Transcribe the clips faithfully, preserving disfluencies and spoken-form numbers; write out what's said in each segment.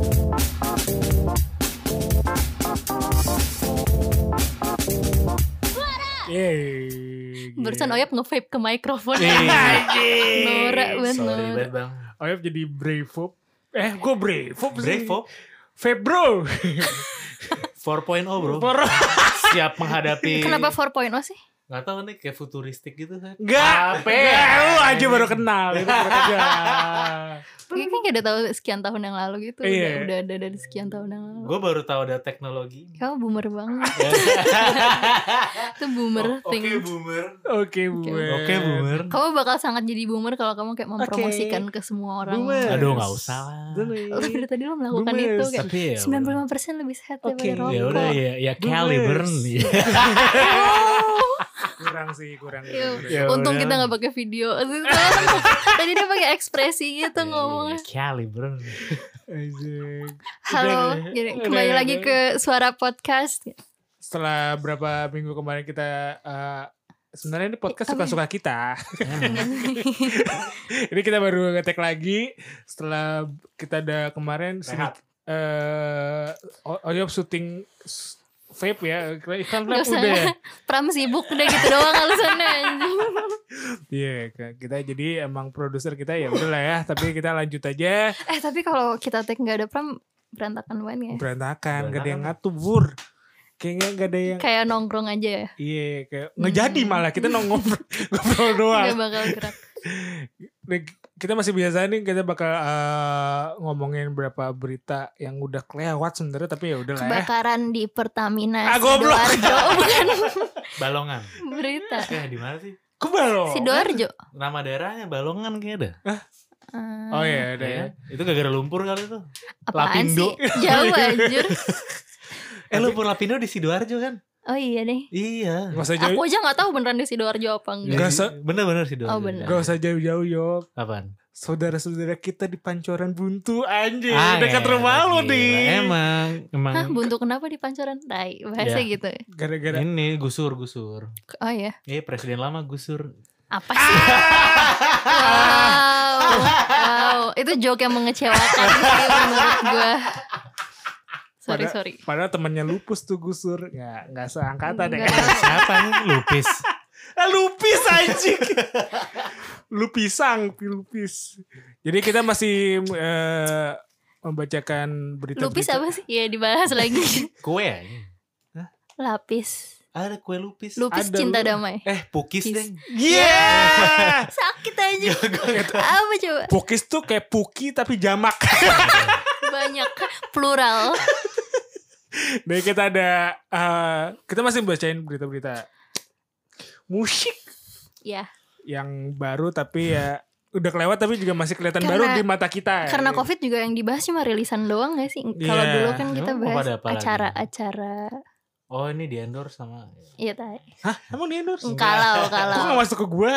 Yeay. Barusan Oyap nge-vape ke mikrofon. Norak banget. Sorry banget bang. Oyap jadi Brave-Vop. Eh gue Brave-Vop sih. Brave-Vop Vape bro. four point oh bro. For... Siap menghadapi. Kenapa four point oh sih? Gak tau nih kayak futuristik gitu kan. Gak. Apa? Lu aja baru kenal. Itu baru kerja. Kayaknya kan udah tahu sekian tahun yang lalu gitu. Iya. Udah, udah ada dari sekian tahun yang lalu. Gue baru tahu ada teknologi. Kamu boomer banget. Itu boomer Oke thing. boomer. Oke boomer. Oke boomer. Kamu bakal sangat jadi boomer kalau kamu kayak mempromosikan ke semua orang. Boomer. Aduh gak usah lah. Oh, dari tadi lo melakukan Boomers. itu kayak Tapi ya sembilan puluh lima persen lebih sehat Oke. daripada Ya rokok. udah ya ya caliber nih. Kurang sih, kurang. Yuk. Ya Untung udah. kita gak pakai video. Tadi dia pakai ekspresi gitu ngomongnya. Caliber. Asik. Halo, Udah, jadi udah, kembali udah. lagi ke Suara Podcast. Setelah berapa minggu kemarin kita uh, sebenarnya ini podcast Apa ya? suka-suka kita. Ini kita baru ngetek lagi setelah kita ada kemarin Rehat. eh uh, Oyop syuting s- vape ya. Iklan Gak vape usah udah ya. Pram sibuk udah gitu doang alasannya anjing. Iya, Kak. Kita jadi emang produser kita ya udahlah ya, tapi kita lanjut aja. Eh tapi kalau kita take gak ada Pram berantakan banget ya. Berantakan, gak ada yang Berantakan. ngatur, Bur. Kayaknya gak ada yang Kayak nongkrong aja ya. iya, kayak ngejadi malah kita nongkrong ngobrol doang. Gak bakal gerak. Nih, kita masih biasa nih kita bakal uh, ngomongin berapa berita yang udah kelewat sebenarnya tapi ya udahlah ya. Kebakaran di Pertamina Ah, goblok. Sidoarjo. Oh, bukan Balongan. berita. Eh di mana sih? Kebalo. Sidoarjo. Nama daerahnya Balongan kayaknya ada. Hmm, Oh iya, ada Ya ya. kan? Itu gara-gara lumpur kali itu. apaan Lapindo. sih? Jauh anjir. Eh lumpur Lapindo di Sidoarjo kan? Oh iya deh. Iya. Gak usah Aku jauh, aja gak tahu beneran di Sidoarjo apa enggak. Nggak se- Bener-bener Sidoarjo. Oh, bener. gak usah jauh-jauh Yop. Apaan? Saudara-saudara kita di Pancoran Buntu anjir, Ah, dekat ya, rumah lu gila. nih. Emang, emang. Hah, buntu kenapa di Pancoran? Tai, bahasa Ya. gitu. Gara-gara Ini gusur gusur. Oh ya. Eh presiden lama gusur. Apa sih? Wow. Wow, itu joke yang mengecewakan sih menurut gue. Sorry, Pada- sorry. Padahal temannya Lupus tuh Gusur. Nggak, nggak seangkatan deh. Enggak. Siapa nih? Lupis. Ah, Lupis anjing. Lupisang, Lupis. Jadi kita masih eh, membacakan berita-berita. Lupis apa sih? Ya dibahas lagi. Kue aja. Lapis. Ada kue lupis. Lupis Ada cinta lu. damai. Eh pukis Pukis. deh. Yeah. Sakit aja. Apa coba? Pukis tuh kayak puki tapi jamak. Banyak plural. Jadi kita ada eh, kita masih bacain berita-berita musik Ya, yang baru tapi ya udah kelewat tapi juga masih kelihatan Karena- baru di mata kita. karena ya. Covid juga yang dibahas cuma rilisan doang gak sih? Kalau Iya. dulu kan kita Emang bahas pada apa lagi? acara-acara. Oh ini di endorse sama. Iya tai. Hah, emang dia endorse? Kalau Kok kalau gak masuk ke gue?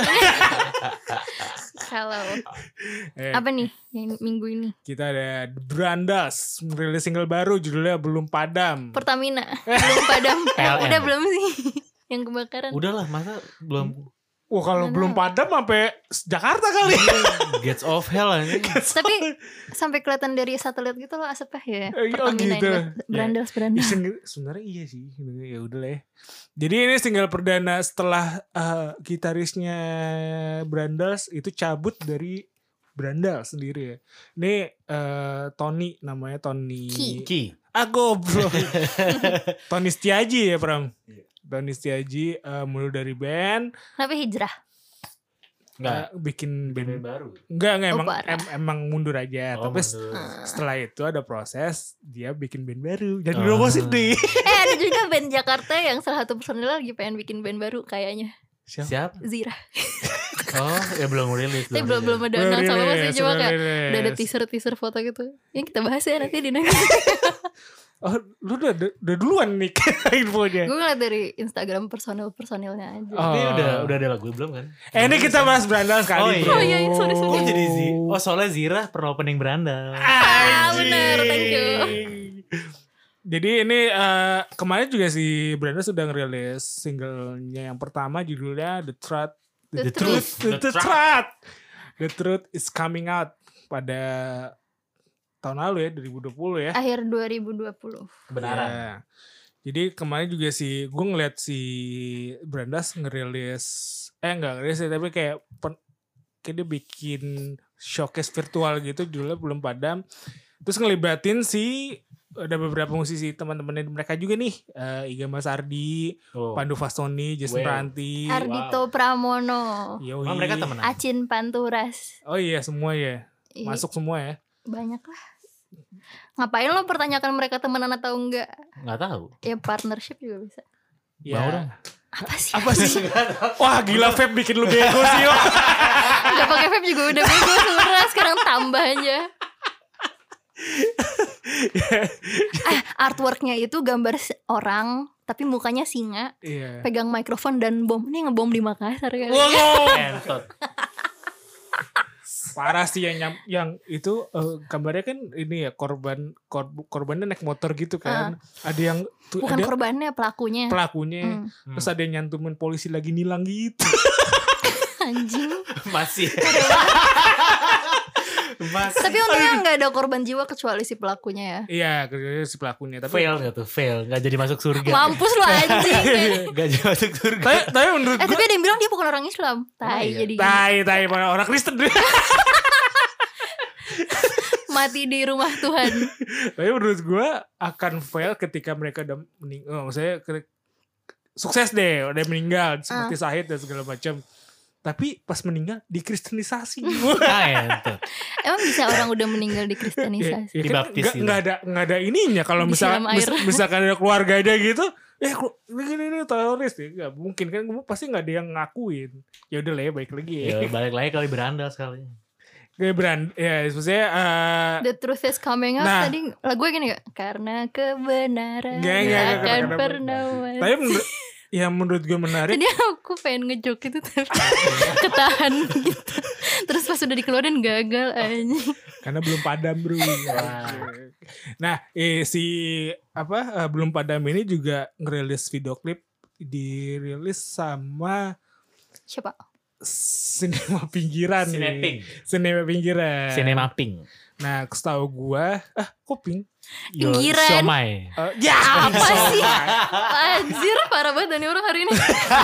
kalau Eh, apa nih yang minggu ini? kita ada The Brandas merilis single baru judulnya Belum Padam. Pertamina belum padam. P L N. Udah belum sih yang kebakaran? Udahlah masa belum Wah kalau Mana? belum padam sampai Jakarta kali. Gates of Hell aja. Tapi sampai kelihatan dari satelit gitu loh asapnya ya. Eh, oh Pertamina gitu. ini Ya. berandal Ya, berandal. single- sebenarnya iya sih. Ya udah lah ya. Jadi ini single perdana setelah eh, gitarisnya Brandas itu cabut dari Brandal sendiri ya. Ini eh, Tony namanya Tony. Ki. Ki. Ah goblok. Tony Setiaji ya Pram. Tony Setiaji eh, mulai dari band. Tapi hijrah. Enggak. eh, bikin Band band. baru. Enggak, enggak Oh, emang, parah. em- emang mundur aja. Oh, Tapi s- mundur. setelah itu ada proses dia bikin band baru. Jadi Oh. oh. nih. Eh ada juga band Jakarta yang salah satu personil lagi pengen bikin band baru kayaknya. Siapa? Siap. Zira. Oh ya belum rilis. Tapi belum belum ada Belum announce apa apa sih rilis, cuma belum kayak rilis. udah ada teaser teaser foto gitu. Yang kita bahas ya nanti di nanti. Oh, lu udah, udah duluan nih infonya. Gue ngeliat dari Instagram personil personilnya aja. Oh. Ini udah udah ada lagu belum kan? Eh ini kita bahas Brandal sekali. Oh, iya. bro. Oh, iya, sorry, sorry. Oh jadi Zi. Oh soalnya Zira pernah opening berandal. Ah, bener, thank you. Jadi ini eh, kemarin juga si Brandal sudah ngerilis singlenya yang pertama judulnya The Truth. The The Truth. The, the Truth. The Truth is coming out pada tahun lalu ya, dua ribu dua puluh ya. Akhir dua ribu dua puluh. Kebenaran. Ya. Jadi kemarin juga si gue ngeliat si Brandas ngerilis eh enggak ngerilis sih, tapi kayak pen, kayak dia bikin showcase virtual gitu, judulnya Belum Padam. Terus ngelibatin si ada beberapa musisi teman-temannya mereka juga nih, uh, Iga Mas Ardi, Oh. Pandu Fastoni, Jason Wow. Ranti. Ardito Pramono. Yoi. Oh, mereka temenan. Acin Panturas. Oh iya semua ya. Ih, Masuk semua ya. banyak lah. Ngapain lo pertanyakan mereka temenan atau enggak? Nggak tahu. Ya partnership juga bisa. Ya. Mau dong. Apa sih? Apa sih? Wah gila Feb bikin lu bego sih yo. Udah pakai vape juga udah bego sebenarnya, sekarang tambah aja. Eh, artworknya itu gambar se- orang tapi mukanya singa, Iya. pegang mikrofon dan bom. Ini ngebom di Makassar kali. Wow. Entot. Parah sih yang nyam- yang itu eh, gambarnya kan ini ya korban korb, korbannya naik motor gitu kan. Ada yang tuh Bukan ada korbannya, pelakunya. pelakunya. Hmm. Terus ada yang nyantumin polisi lagi nilang gitu. Anjing. Masih. Masih. Tapi untungnya nggak ada korban jiwa kecuali si pelakunya ya. Iya, kerjanya si pelakunya. Tapi Fail gak tuh? Fail. Gak jadi masuk surga. Mampus lu anjing. Gak jadi masuk surga. tapi, tapi menurut Eh gue tapi ada yang bilang dia bukan orang Islam. Tai iya. jadi tai tai orang Kristen. mati di rumah Tuhan. Tapi menurut gue akan fail ketika mereka udah meninggal. Oh, maksudnya ke- sukses deh, udah meninggal seperti Sahid dan segala macam. Tapi pas meninggal dikristenisasi. Ah, entot. Emang bisa orang udah meninggal di kristenisasi? Ya, ya kan Dibaptis nggak gitu. nggak ada nggak ada ininya kalau Disiram misalkan air. mis- misalkan ada keluarganya gitu, eh kelu- ini ini teroris ya nggak mungkin kan, pasti nggak ada yang ngakuin. Ya udah lah ya, baik lagi ya. Ya balik lagi kali berandal sekali. Kayak brand ya maksudnya eh, The truth is coming out. Nah. Tadi lagu gini gak? Karena kebenaran Nggak, nggak, tak nggak, akan karena- pernah mati. tapi menurut yang menurut gue menarik Tadi aku pengen ngejok itu tapi ketahan gitu. Terus pas udah dikeluarin gagal anjing. karena belum padam bro. Nah eh, si apa eh, belum padam ini juga ngerilis video klip, dirilis sama Siapa? Sinema Pinggiran nih. Sineping. Sinema Pinggiran. Cinemapping. Nah, setahu gua, ah, kok ping? Yo, Pinggiran. Siomay. Eh, ya, Apa sih? Anjir parah banget nih orang hari ini.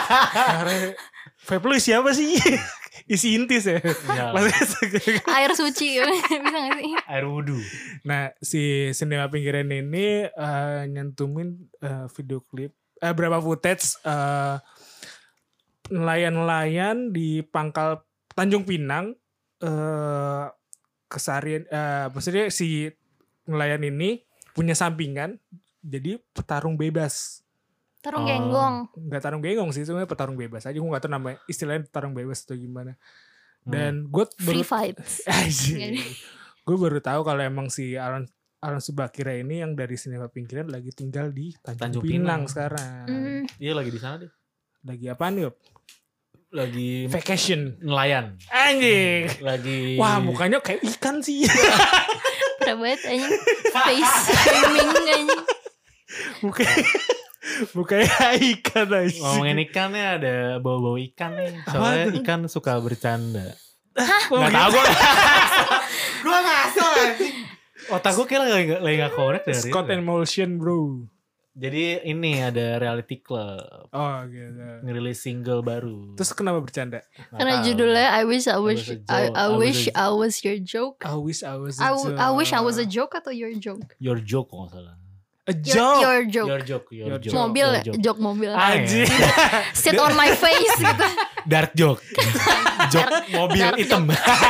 Vape lu siapa sih? Isi intis ya. Ya, Maksudnya- Air suci bisa gak sih? air wudhu. nah, si Sinema Pinggiran ini eh, nyantumin eh, video klip, eh, berapa footage eh, nelayan-nelayan di pangkal Tanjung Pinang, eh, kesarian, eh, maksudnya si nelayan ini punya sampingan, jadi petarung bebas. Tarung Oh. genggong. Nggak tarung genggong sih, sebenarnya petarung bebas aja. Gue nggak tahu namanya istilahnya petarung bebas atau gimana. Dan gue Free baru fight. gue baru tahu kalau emang si Alan Alan Subakira ini yang dari Sinema Pinggiran lagi tinggal di Tanjung, Tanjung Pinang, Pinang. sekarang. Hmm. Iya lagi di sana deh. Lagi apaan yuk? Lagi Vacation. nelayan. Anjing. Lagi. Wah mukanya kayak ikan sih. Parah banget anjing. Face shaming anjing. Mukanya mukanya ikan aja. Ngomongin ikannya ada bau-bau ikan nih. Soalnya Apa tuh? ikan suka bercanda. Oh, Gak gitu. tau gue. Gue ngasal anjing. Otak gue kayak lagi, lagi gak korek dari Scott itu. and Motion bro. Jadi ini ada Reality Club Oh gitu. ngerilis single baru. Terus kenapa bercanda? Nggak Karena tahu. judulnya I wish I wish was a I, joke. I I was wish a- I was your joke. I wish I was a I, joke. I wish I was a joke atau your joke? Your Joke kalau nggak salah. A Your, joke. your joke. Your Joke. Your, Your Joke. Mobil Your ya? joke. Joke mobil. Ah, Anjing. Sit on my face gitu. Dark Joke. Joke mobil Dark hitam.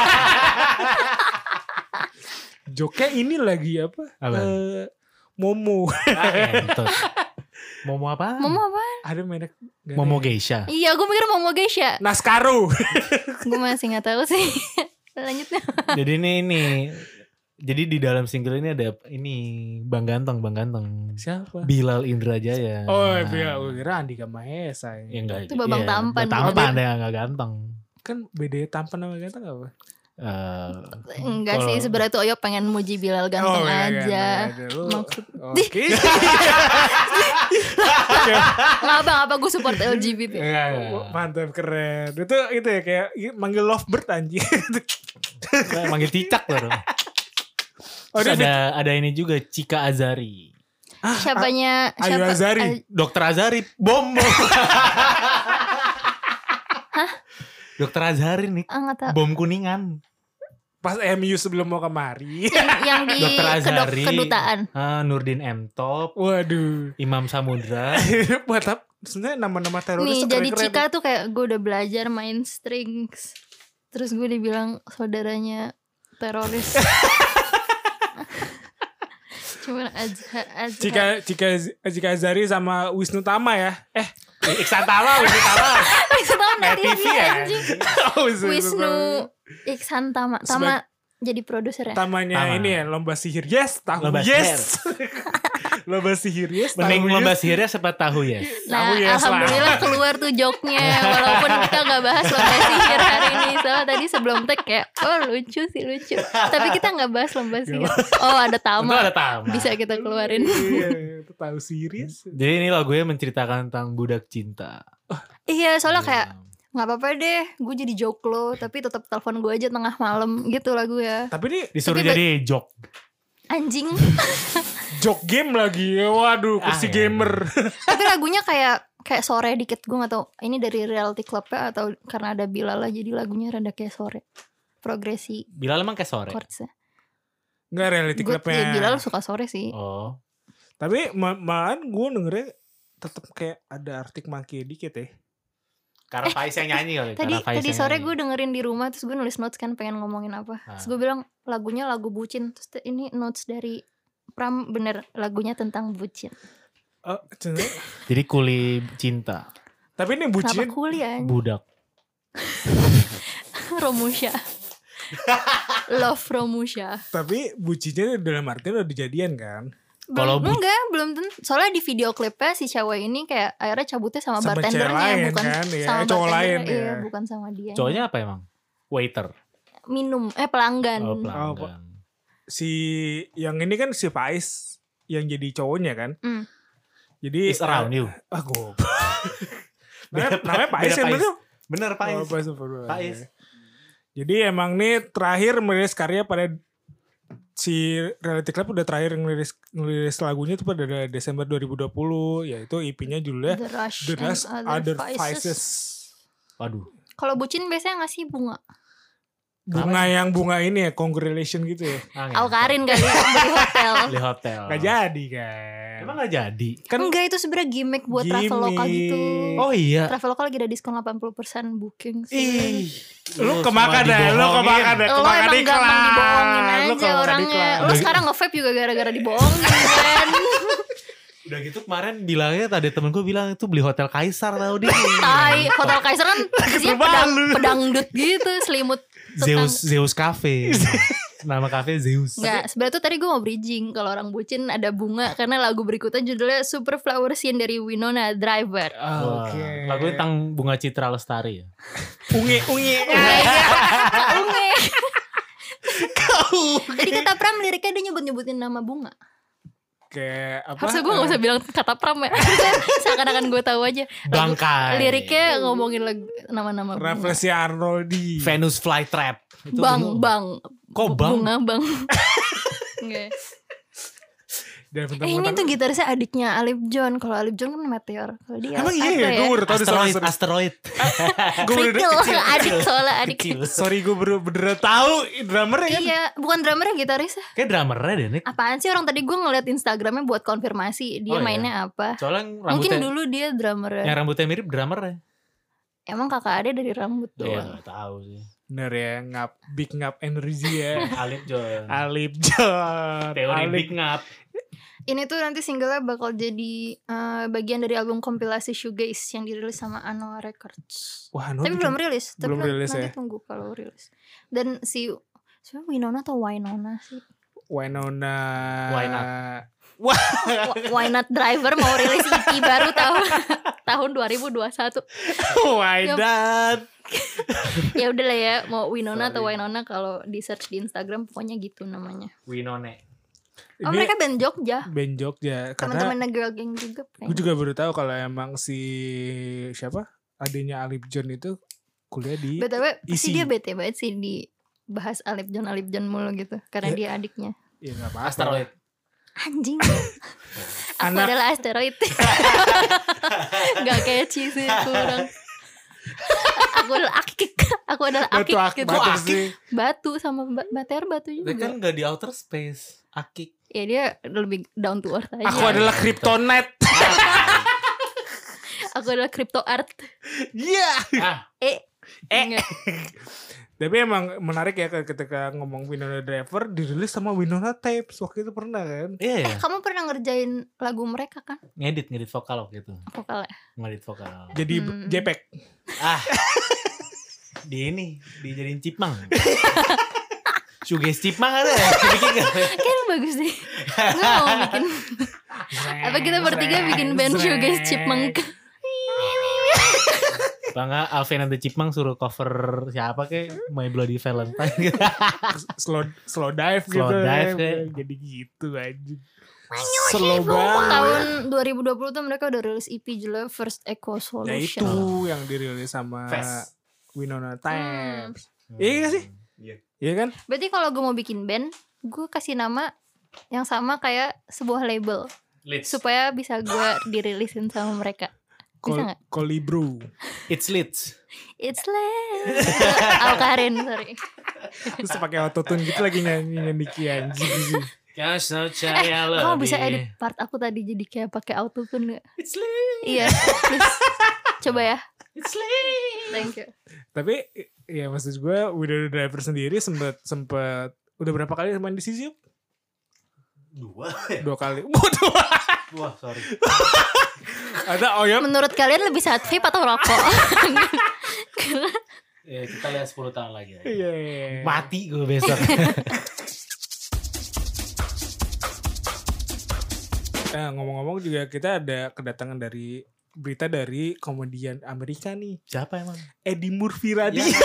Joke ini lagi apa? Apa? Eh, Momo. Ah, entot. Momo apa? Momo apa? Ada merek. nggak ada Momo ya? Geisha. Iya gue mikir Momo Geisha. Naskaro. Gue masih gak tahu sih. Lanjutnya. Jadi ini ini. Jadi di dalam single ini ada ini Bang Ganteng, Bang Ganteng. Siapa? Bilal Indrajaya. Oh iya, gue kira Andika Mahesa. Ya Ya. enggak. Itu Babang iya, Tampan. Tampan dia enggak ganteng. Kan beda tampan sama ganteng apa? Eh, Enggak sih kalau- sebenarnya tuh Oyo pengen muji Bilal ganteng iya, aja. ganteng aja. Lu- Maksud Oke. nggak apa apa gue support L G B T. Enggak, Oh, enggak. mantap, keren. Itu itu ya kayak manggil lovebird anjing. Manggil cicak loh. Oh, Terus dia ada ada ini juga Cika Azari. Siapanya Ayu siapa? Azari. Ay- Dokter Azari bom bom. Dokter Azari nih ah, nggak tahu. bom Kuningan. Pas M U sebelum mau kemari. yang, yang di Dokter kedok, Azari. kedutaan. Ah, Nurdin M Top, Waduh. Imam Samudra. Buat apa? Sebenarnya nama-nama teroris Nih tuh jadi keren-keren. Cika tuh kayak gue udah belajar main strings. Terus gue dibilang saudaranya teroris. Cuman Azhar, Azhar. Cika Cika Cika Azari sama Wisnu Tama ya. Eh, Iksan Tama, Wisnu Tama. Wisnu Tama Net dia, T V dia, ya. anjing. oh, Wisnu, Wisnu Iksan Tama. Tama jadi produser ya. Tamanya Tama. ini ya lomba sihir yes, tahu Lomba yes. lomba sihir yes, Mending tahu lomba yes. sihirnya sempat tahu ya. Nah, Tahu yes lah. alhamdulillah keluar tuh joknya. Walaupun kita nggak bahas lomba sihir hari ini. Soalnya tadi sebelum tag kayak, oh lucu sih lucu. Tapi kita nggak bahas lomba sihir. Oh ada Itu Tama. ada Tama. Bisa kita keluarin. Iya, itu tahu serius. Jadi ini lagunya menceritakan tentang budak cinta. Iya, soalnya kayak nggak apa-apa deh, gue jadi joklo, tapi tetap telepon gue aja tengah malam gitu lagu ya. Tapi ini Disuruh Tapi jadi jok. Anjing. jok game lagi. Waduh, kursi Ah, ya. gamer. Tapi lagunya kayak kayak sore dikit, gue nggak tahu ini dari reality club ya atau karena ada Bilal lah jadi lagunya rada kayak sore. Progresi Bilal emang kayak sore. chordsnya. Enggak reality Gue clubnya. ya, Bilal suka sore sih. Oh. Tapi ma- malahan gue dengernya tetap kayak ada Arctic Monkey dikit ya. Karena Faiz yang nyanyi kali. Tadi Karena Faiz tadi yang sore nyanyi. gue dengerin di rumah terus gue nulis notes kan pengen ngomongin apa. Ah. Terus gue bilang lagunya lagu bucin. Terus te- ini notes dari Pram bener lagunya tentang bucin. Oh, sebenarnya- Jadi kuli cinta. tapi ini Kenapa bucin. kuliah? Budak. Romusha. Love Romusha. Tapi bucinnya dalam artian udah dijadian kan. Kalau Belum bu- enggak, belum tentu. Soalnya di video klipnya si cewek ini kayak akhirnya cabutnya sama, Sama cewek bartendernya lain bukan kan, ya, sama cowok bartendernya, lain iya, ya. bukan sama dia. Cowoknya apa emang? Waiter. Minum eh pelanggan. Oh, Oh, pelanggan. Si yang ini kan si Faiz yang jadi cowoknya kan. Hmm. Jadi Is around you. Ah, gue. namanya, namanya Faiz Beda kan Faiz. bener? Bener Faiz. Oh, Faiz, Faiz. Faiz. Jadi emang nih terakhir merilis karya pada si Reality Club udah terakhir ngerilis, ngerilis lagunya itu pada Desember dua ribu dua puluh, yaitu E P-nya judulnya The Rush, The Rush and Other Other Vices. Vices. Waduh. Kalau bucin biasanya ngasih bunga. Bunga yang bunga ini ya, congratulation gitu ya. Angin. Aukarin kali beli hotel. Di hotel. Gak jadi kan. Emang gak jadi? Kan Enggak, itu sebenarnya gimmick buat Traveloka Gimmick. gitu. Oh iya. Traveloka lagi ada diskon delapan puluh persen booking sih. Ih. lu kemakan dah, lu kemakan dah, Lo kemakan emang gampang iklan. dibohongin Lu aja kemakan orangnya. iklan. Lo sekarang nge-vape juga gara-gara dibohongin kan. Udah gitu kemarin bilangnya tadi temen gue bilang itu beli hotel Kaisar tau dia. Tai, Hotel Kaiser kan isinya Kesel pedang, banget. pedangdut gitu, selimut Zeus Zeus Cafe. Nama cafe Zeus. Enggak, sebenarnya tuh tadi gue mau bridging kalau orang bucin ada bunga karena lagu berikutnya judulnya Super Flower Scene dari Winona Driver. Wah, Oke. lagunya tentang bunga Citra Lestari ya. Ungi, ungi. Unge. Jadi kata Pram liriknya dia nyebut-nyebutin nama bunga. Kayak apa? Harusnya gue gak usah bilang kata Pram ya. Seakan-akan gue tahu aja. Lagu- Bangkai. Liriknya ngomongin lagu, nama-nama bunga. Referensi Arnoldi. Venus Flytrap. Itu Bang, bunga- bang. Kok bang? Bunga, bang. Enggak. Dan Eh ini tuh gitarisnya adiknya Alip John. Kalau Alip John kan Meteor. Kalau dia Emang iya apa ya? ya? Gue baru tau di Asteroid, salah- asteroid. Gue bener Krikil, adik soalnya adik. Kecil. Sorry gue bener bener tahu drummer ya. Iya, bukan drummernya gitarisnya. Kayak drummernya deh Nick. Apaan sih orang tadi gue ngeliat Instagramnya buat konfirmasi dia Oh, iya. mainnya apa? Soalnya yang Mungkin rambutnya, dulu dia drummernya. yang rambutnya mirip drummernya. Emang kakak ada dari rambut Iya doang. gak tahu sih. Bener ya, ngap big ngap energi ya. Alip John. Alip John. Teori Alip. Big Ngap. Ini tuh nanti singlenya bakal jadi eh, bagian dari album kompilasi Shoegaze yang dirilis sama Anoa Records. Wah, no, Tapi bikin- belum rilis. Tapi belum nanti, rilis nanti ya. tunggu kalau rilis. Dan si siapa Winona atau Winona sih? Winona. Why not? Wah, Wh- Why Not Driver mau rilis E P baru tahun tahun dua ribu dua puluh satu. why Yup. not? Ya udah lah ya, mau Winona atau Sorry. Winona kalau di search di Instagram pokoknya gitu namanya. Winone. Oh Ini mereka band Jogja. band Jogja karena Teman-temannya Girl Gang juga. gue juga baru tahu kalau emang si siapa adanya Alip John itu kuliah di B T W Isi. pasti dia bete banget sih di bahas Alip John Alip John mulu gitu karena Ya. dia adiknya. Ya nggak apa-apa. Asteroid. Anjing. Aku Anak- adalah asteroid. Gak catchy sih, kurang. Aku adalah akik. Aku adalah akik Batu ak gitu. batu Akik? sih. Batu sama ba- bater batu Dia juga. kan gak di outer space. Akik. Ya dia lebih down to earth aja. Aku adalah kryptonite. Aku adalah crypto art. Iya. Ah, Eh, Eh. enggak. Tapi emang menarik ya ketika ngomong Winona Driver dirilis sama Winona Tapes waktu itu pernah kan? iya ya. Kamu pernah ngerjain lagu mereka kan? Ngedit, ngedit vokal waktu itu. Vokalnya. Ngedit vokal. Jadi Hmm. JPEG. Ah. Di ini, dijadiin cipmang. Suges cipmang ada ya? Bikin gak? Kayaknya bagus deh. Gue mau bikin. Apa kita bertiga bikin band Shoegaze Chipmunk? Bangga Alvin and the Chipmunk suruh cover siapa kayak My Bloody Valentine gitu. slow slow dive Slow gitu. dive kayak. Jadi gitu aja. Slow banget. Tahun dua ribu dua puluh tuh mereka udah rilis E P judulnya First Echo Ya itu Solution. yang dirilis sama Fast. Winona Tapes. Hmm. Iya gak sih? Iya. Iya kan? Berarti kalau gue mau bikin band, gue kasih nama yang sama kayak sebuah label Leeds. supaya bisa gue dirilisin sama mereka. Bisa Kol nggak? Kolibro. It's Leeds. It's late. Alkarin, sorry. Terus pakai autotune gitu lagi nyanyi nyanyi anjing sih. Kau percaya lebih. Kamu bisa edit part aku tadi jadi kayak pakai autotune nggak? It's Leeds. Iya, please. Coba ya. It's Leeds. Thank you. Tapi ya maksud gue Winona Driver sendiri sempet sempet udah berapa kali main di Sisiup? Dua. Dua kali. Waduh. Wah, sorry. Ada Oyam. Menurut kalian lebih saat vape atau rokok? Ya, kita lihat sepuluh tahun lagi. Ya. Iya. iya. Mati gue besok. Nah, ngomong-ngomong juga kita ada kedatangan dari berita dari komedian Amerika nih. Siapa emang? Eddie Murphy Radi. Ya.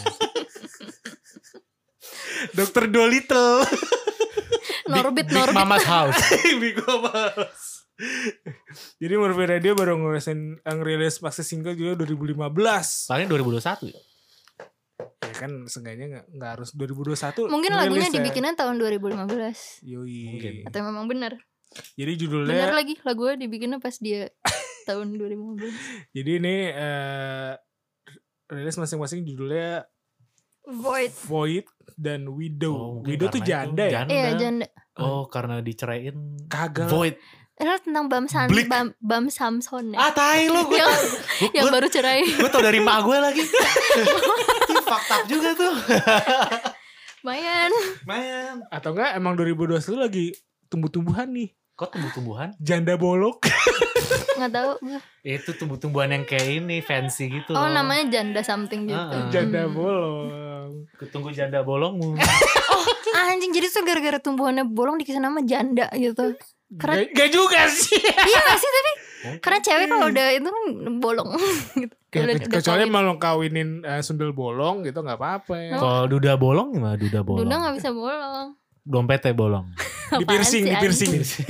dokter Dolittle. Norbit, Big Norbit. Mama's House. Big Mama's. Jadi Murphy Radio baru ngerilis ngerilis maxi single juga dua ribu lima belas. Paling dua ribu dua puluh satu ya? Ya kan seenggaknya gak, gak harus dua ribu dua puluh satu. Mungkin ngerilis lagunya ya. dibikinnya tahun dua ribu lima belas. Yoi. Mungkin. Atau memang benar? Jadi Benar judulnya lagi lagunya dibikinnya pas dia tahun dua ribu lima belas. jadi ini eh rilis masing-masing judulnya Void. Void dan Widow. Oh, mungkin Widow tuh karena itu janda ya? janda. Iya, janda. Oh, karena diceraiin. Kagak. Void. Itu tentang Bam San, Blik. Bam, Bam Samson ya. Ah, tai lu gue. yang, Gue yang baru cerai. gue tau dari mak gue lagi. Itu fucked up juga tuh. Lumayan. Man. Atau enggak emang dua ribu dua puluh satu lagi tumbuh-tumbuhan nih. Kok tumbuh-tumbuhan? Janda bolok. Nggak tahu gue. Itu tumbuh-tumbuhan yang kayak ini fancy gitu. Oh, loh. namanya janda something gitu. Ah. Janda Hmm. bolong. Kutunggu janda bolongmu. Anjing, jadi tuh gara-gara tumbuhannya bolong dikasih nama janda gitu. Karena Gak, gak juga sih. iya gak sih tapi karena cewek kalau udah itu kan bolong gitu. Udah, udah Kecuali kawin. emang lo kawinin uh, sundel bolong gitu gak apa-apa ya. Kalau duda bolong gimana duda bolong? Duda gak bisa bolong. Dompetnya bolong. Di Apaan piercing, sih, di piercing. anjing?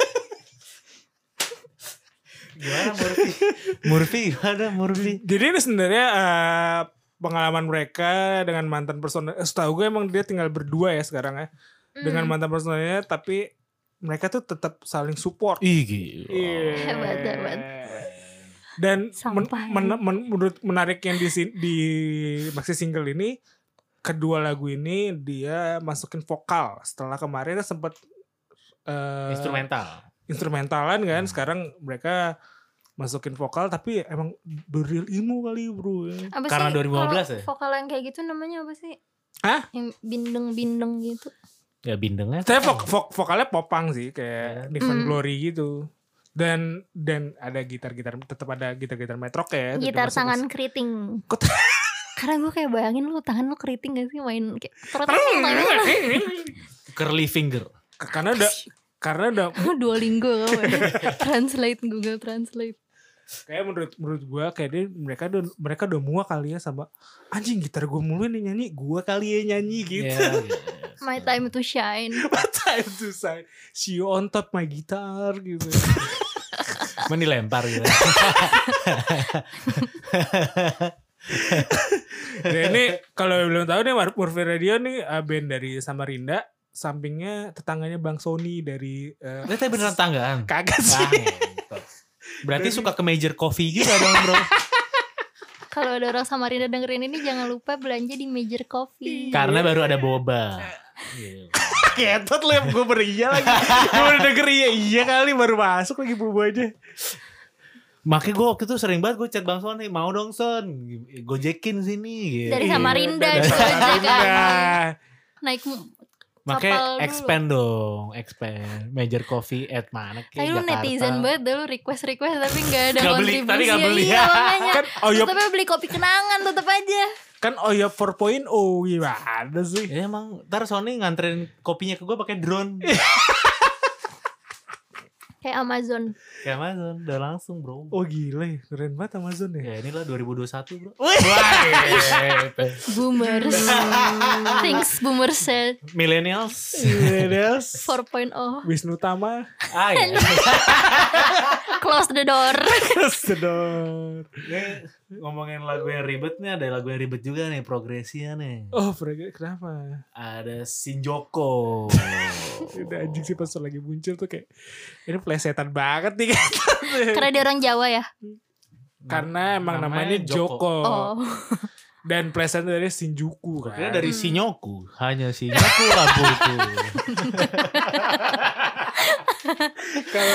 Gimana Murphy? Murphy gimana Murphy? Jadi ini sebenarnya uh, pengalaman mereka dengan mantan personel. eh, Setahu gue emang dia tinggal berdua ya sekarang ya. Dengan Hmm. mantan personelnya, tapi mereka tuh tetap saling support. Ih gila. Iya. Hebat, hebat. Dan men, Sampah, men, ya. men- menurut menarik yang di sin- di maxi single ini, kedua lagu ini dia masukin vokal. Setelah kemarin sempat uh, Instrumental. instrumentalan kan, sekarang mereka masukin vokal tapi emang the real emo kali bro ya. Apa Karena sih dua ribu lima belas kalau ya? vokal yang kayak gitu namanya apa sih? Hah? Yang bindeng-bindeng gitu. Ya bindengnya. Saya vok, vok, vokalnya popang sih kayak Different Hmm. Glory gitu. Dan dan ada gitar-gitar, tetap ada gitar-gitar metrok ya. tetap Gitar masuk- tangan keriting. Kok- Karena gue kayak bayangin lu tangan lu keriting gak sih main kayak Curly finger. Karena udah karena udah Duolingo kamu ya. Translate Google Translate. kayak menurut menurut gua kayak dia mereka udah mereka udah muak kali ya sama anjing gitar gua mulu nih nyanyi, gua kali ya nyanyi gitu. Iya, iya. My time to shine. What time to say see you on top my guitar gitu. Cuman dilempar gitu. Nah, ini kalau belum tahu nih Murphy Radio nih uh, band dari Samarinda sampingnya tetangganya Bang Sony dari uh, Lihat beneran tanggaan. kagak sih. Ah, berarti suka ke Major Coffee juga dong bro. Kalau ada orang Samarinda dengerin ini jangan lupa belanja di Major Coffee. Karena baru ada boba. Ketot lu yang gue baru iya lagi. Gue baru denger iya iya kali baru masuk lagi boba aja. Makanya gue waktu itu sering banget gue chat Bang Sony, mau dong Son, gojekin sini. Gitu. Dari Samarinda Dari gitu aja Samarinda. kan. Naik Makanya kapal expand dong, expand. Major Coffee at mana ke Tapi lu Jakarta. netizen banget deh lu request-request tapi gak ada Gak beli, kontribusi. tadi gak beli. Iya makanya. Kan Terus Oyop tapi beli kopi kenangan tetep aja. kan Oyop empat titik nol gimana sih? Ya emang ntar Sony nganterin kopinya ke gue pakai drone. Kayak Amazon. Kayak Amazon, udah langsung bro. Oh gila ya, keren banget Amazon ya. Ya inilah dua ribu dua puluh satu bro. Boomers. Things boomers said. Millennials. Millennials. empat titik nol. Wisnu Tama. Ah ya. Close the door. Sedor. Nih ngomongin lagu yang ribet nih, ada lagu yang ribet juga nih progresinya nih. Oh Frege, kenapa? Ada Shinjoko. Udah anjing sih pas lagi muncul tuh kayak ini plesetan banget nih kan. Karena dia orang Jawa ya. Karena emang namanya, Joko. Oh. Dan plesetan dari Shinjuku kan. Kira dari Shinyoku, hanya Shinyoku lampuku. Kalau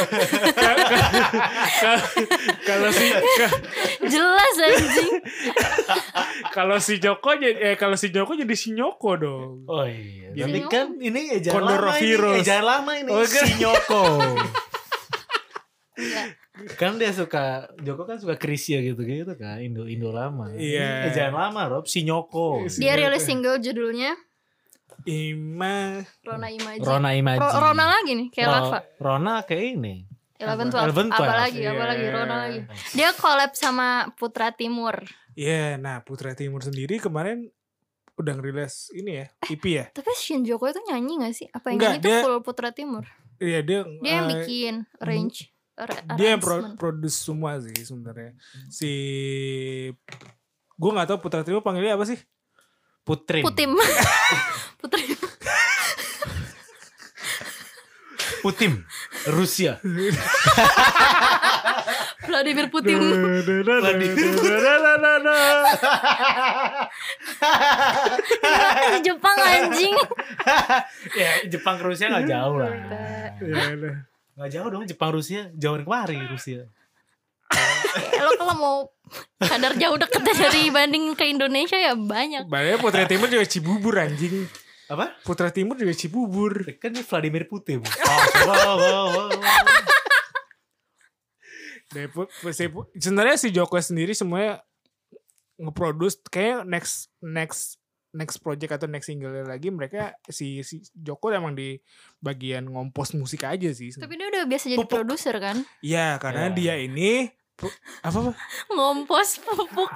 kalau si Jelas anjing. kalau si Joko jadi eh kalau si Joko jadi Shinyoko dong. Oh iya. Jadi Tapi kan ini ejaan Condor lama of ini, Heroes. ejaan lama ini. Oh, kan? Shinyoko. Enggak. Kan dia suka, Joko kan suka Krisya gitu-gitu kan, Indo Indo lama. Iya. Ini ejaan lama Rob, Shinyoko. Dia rilis single judulnya Ima Rona Imaji. Rona Imaji. Ro- Rona lagi nih kayak Ro- Lava. Rona kayak ini. Eleven Twelve. Eleven Apa Twelve. lagi? Apa Iya. lagi? Rona lagi. Dia collab sama Putra Timur. Iya, nah Putra Timur sendiri kemarin udah ngerilis ini ya, E P ya. Tapi Shinjoko itu nyanyi gak sih? Apa yang Enggak, nyanyi itu dia- full Putra Timur? Iya dia Dia yang eh, bikin arrange. ar- dia yang pro- arrangement. produce semua sih sebenarnya. Si gue nggak tahu Putra Timur panggilnya apa sih? Putrim. Putim. Putra. Putim. Rusia. Vladimir Putin. Di Jepang anjing. Ya Jepang ke Rusia gak jauh lah. Iya, iya. Gak jauh dong Jepang Rusia. Jauh kemari Rusia. Ya, lo kalau mau kadar jauh deketnya dari banding ke Indonesia ya banyak. Banyak Putra Timur juga Cibubur anjing. Apa? Putra Timur juga Cibubur. Kan ini Vladimir Putin. Oh, wow, wow, wow. Dari Pu- si Pu- sebenarnya si Joko sendiri semuanya ngeproduce kayak next next next project atau next single lagi mereka si si Joko emang di bagian ngompos musik aja sih. Tapi dia udah biasa jadi Pupuk. produser kan. Iya, karena Ya. dia ini pu- apa apa? Ngompos pupuk.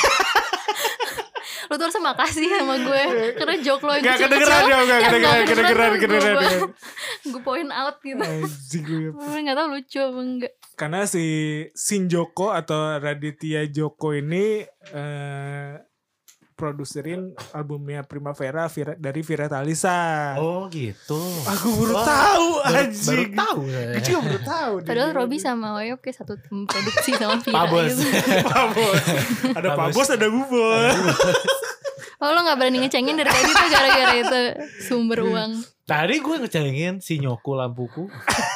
Lu tuh harus makasih sama gue karena joke lo yang Gak kecil-kecil kedengeran dong, gak yang kedengeran, gak kedengeran, tuh kedengeran, gue- kedengeran. Gue point out gitu. Anjing gue. Gue gak tau lucu apa enggak. Karena si Shin Joko atau Raditya Joko ini eh, produserin albumnya Primavera Vira, dari Vira Talisa. Oh gitu. Aku baru Wah, tahu Baru, baru anjing. tahu. Gue juga baru tahu. Padahal Robby sama Oyop kayak satu tim produksi sama Vira Pak Bos. gitu. Pak Bos. Ada Pak Pak Bos, ada Bubos. Oh lo gak berani ngecengin dari tadi tuh gara-gara itu sumber uang. Tadi gue ngecengin si Nyoku lampuku.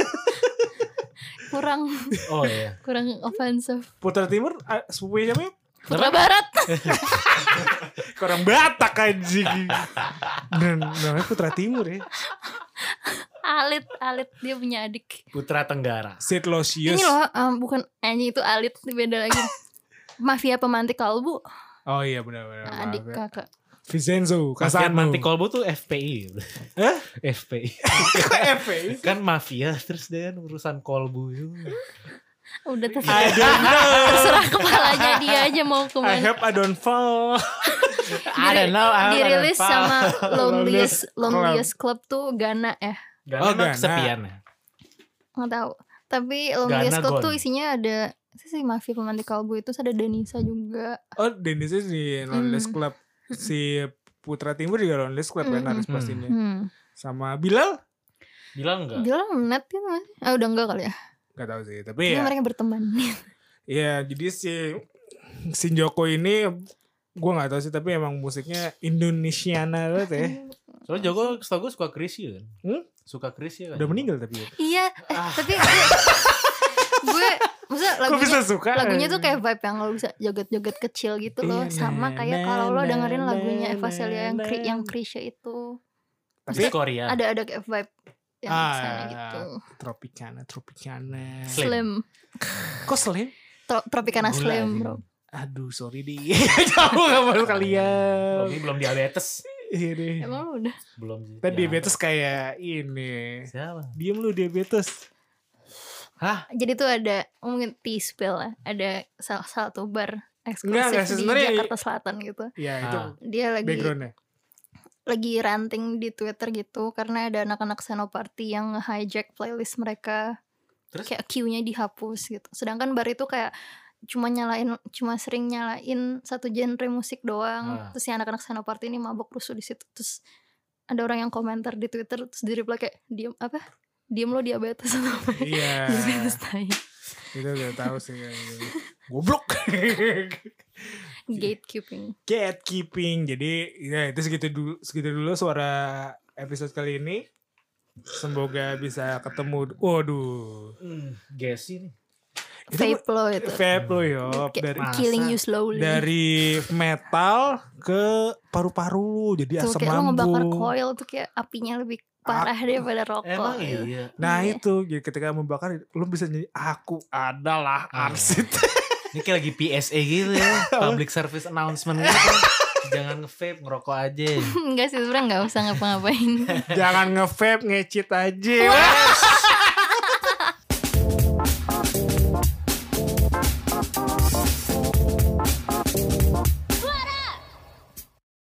Kurang Oh iya. kurang offensive. Putra Timur ah, sepupunya siapa ya? Putra Barat. Orang Batak anjing. Dan namanya Putra Timur ya. Alit, Alit dia punya adik. Putra Tenggara. Sid Losius. Ini loh, um, bukan anjing itu Alit, beda lagi. Mafia pemantik kalbu, Oh iya benar-benar. adik kakak. Vincenzo Mafia Casano. Mantik Kolbu tuh F P I. Hah? F P I. F A. Kan mafia terus dia kan urusan kolbu itu. Udah I terserah, don't know. terserah kepalanya dia aja mau I kemana. hope I don't fall. I don't know. I don't Dirilis know. sama Loneliest Loneliest Club. Loneliest Club tuh Ghana ya, Gak Oh, oh, Ghana. kesepian ya. nggak tahu. Tapi Loneliest Ghana Club gone. tuh isinya ada itu sih Mafia pemantik kalbu itu ada Denisa juga. Oh, Dennis di Loneless Hmm. Club. Si Putra Timur juga Loneless Club kan Hmm. harus Hmm. pastinya. Hmm. Sama Bilal? Bilang enggak? Bilang net gitu masih. Ah udah enggak kali ya. Gak tahu sih, tapi Ini ya. mereka berteman. Ya jadi si Shin Joko ini gue nggak tahu sih, tapi emang musiknya Indonesiana banget ya. Soalnya Joko setahu gue suka Krisya kan. Hmm? Suka Krisya kan. Udah meninggal tapi ya. Iya, eh, tapi gue, gue maksudnya Kok lagunya bisa suka? lagunya tuh kayak vibe yang lo bisa joget-joget kecil gitu loh, Iya, sama na, kayak na, kalau lo na, dengerin na, lagunya Eva na, Celia yang na. Kri, yang Krisya itu. Tapi Korea. Ada ada kayak vibe yang Ah, sana gitu. Tropicana, Tropicana. Slim. Slim, Kok slim? Tro- Tropicana Gula Slim, sih. bro. Aduh, sorry di. Jauh gak baru kalian. Belum, belum diabetes. Iya deh. Emang lo udah? Belum sih. Kan Ya. diabetes kayak ini. Siapa? Diem lu diabetes. Hah? Jadi tuh ada mungkin T-Spill lah, ada salah satu bar Enggak, enggak, eksklusif di sebenarnya- Jakarta Selatan gitu. Ya itu Ah. Dia lagi backgroundnya. lagi ranting di Twitter gitu karena ada anak-anak Senoparty yang nge-hijack playlist mereka. Terus? Kayak queue-nya dihapus gitu. Sedangkan bar itu kayak cuma nyalain cuma sering nyalain satu genre musik doang. Ah. Terus si anak-anak Senoparty ini mabok rusuh di situ. Terus ada orang yang komentar di Twitter terus di reply kayak diem apa? Diem lo diabetes atau apa? Iya. Diabetes tai. Itu udah tahu sih. Goblok. Gatekeeping. Gatekeeping. Jadi ya itu segitu dulu, segitu dulu suara episode kali ini. Semoga bisa ketemu. Waduh. Hmm, Gesi nih. Itu Vape lo itu. vape lo yop. Kayak Dari killing Masa? you slowly. dari metal ke paru-paru lu. Jadi tuh asam kayak lo ngebakar lambung. coil tuh kayak apinya lebih parah daripada rokok. Emang gitu. iya. Nah Iya. itu jadi ketika membakar lu bisa nyanyi aku adalah Ah. arsit. Ini kayak lagi P S A gitu ya. Public service announcement gitu. Jangan nge-vape, ngerokok aja. Enggak sih sebenernya gak usah ngapa-ngapain. Jangan nge-vape, ngecit aja. Wes.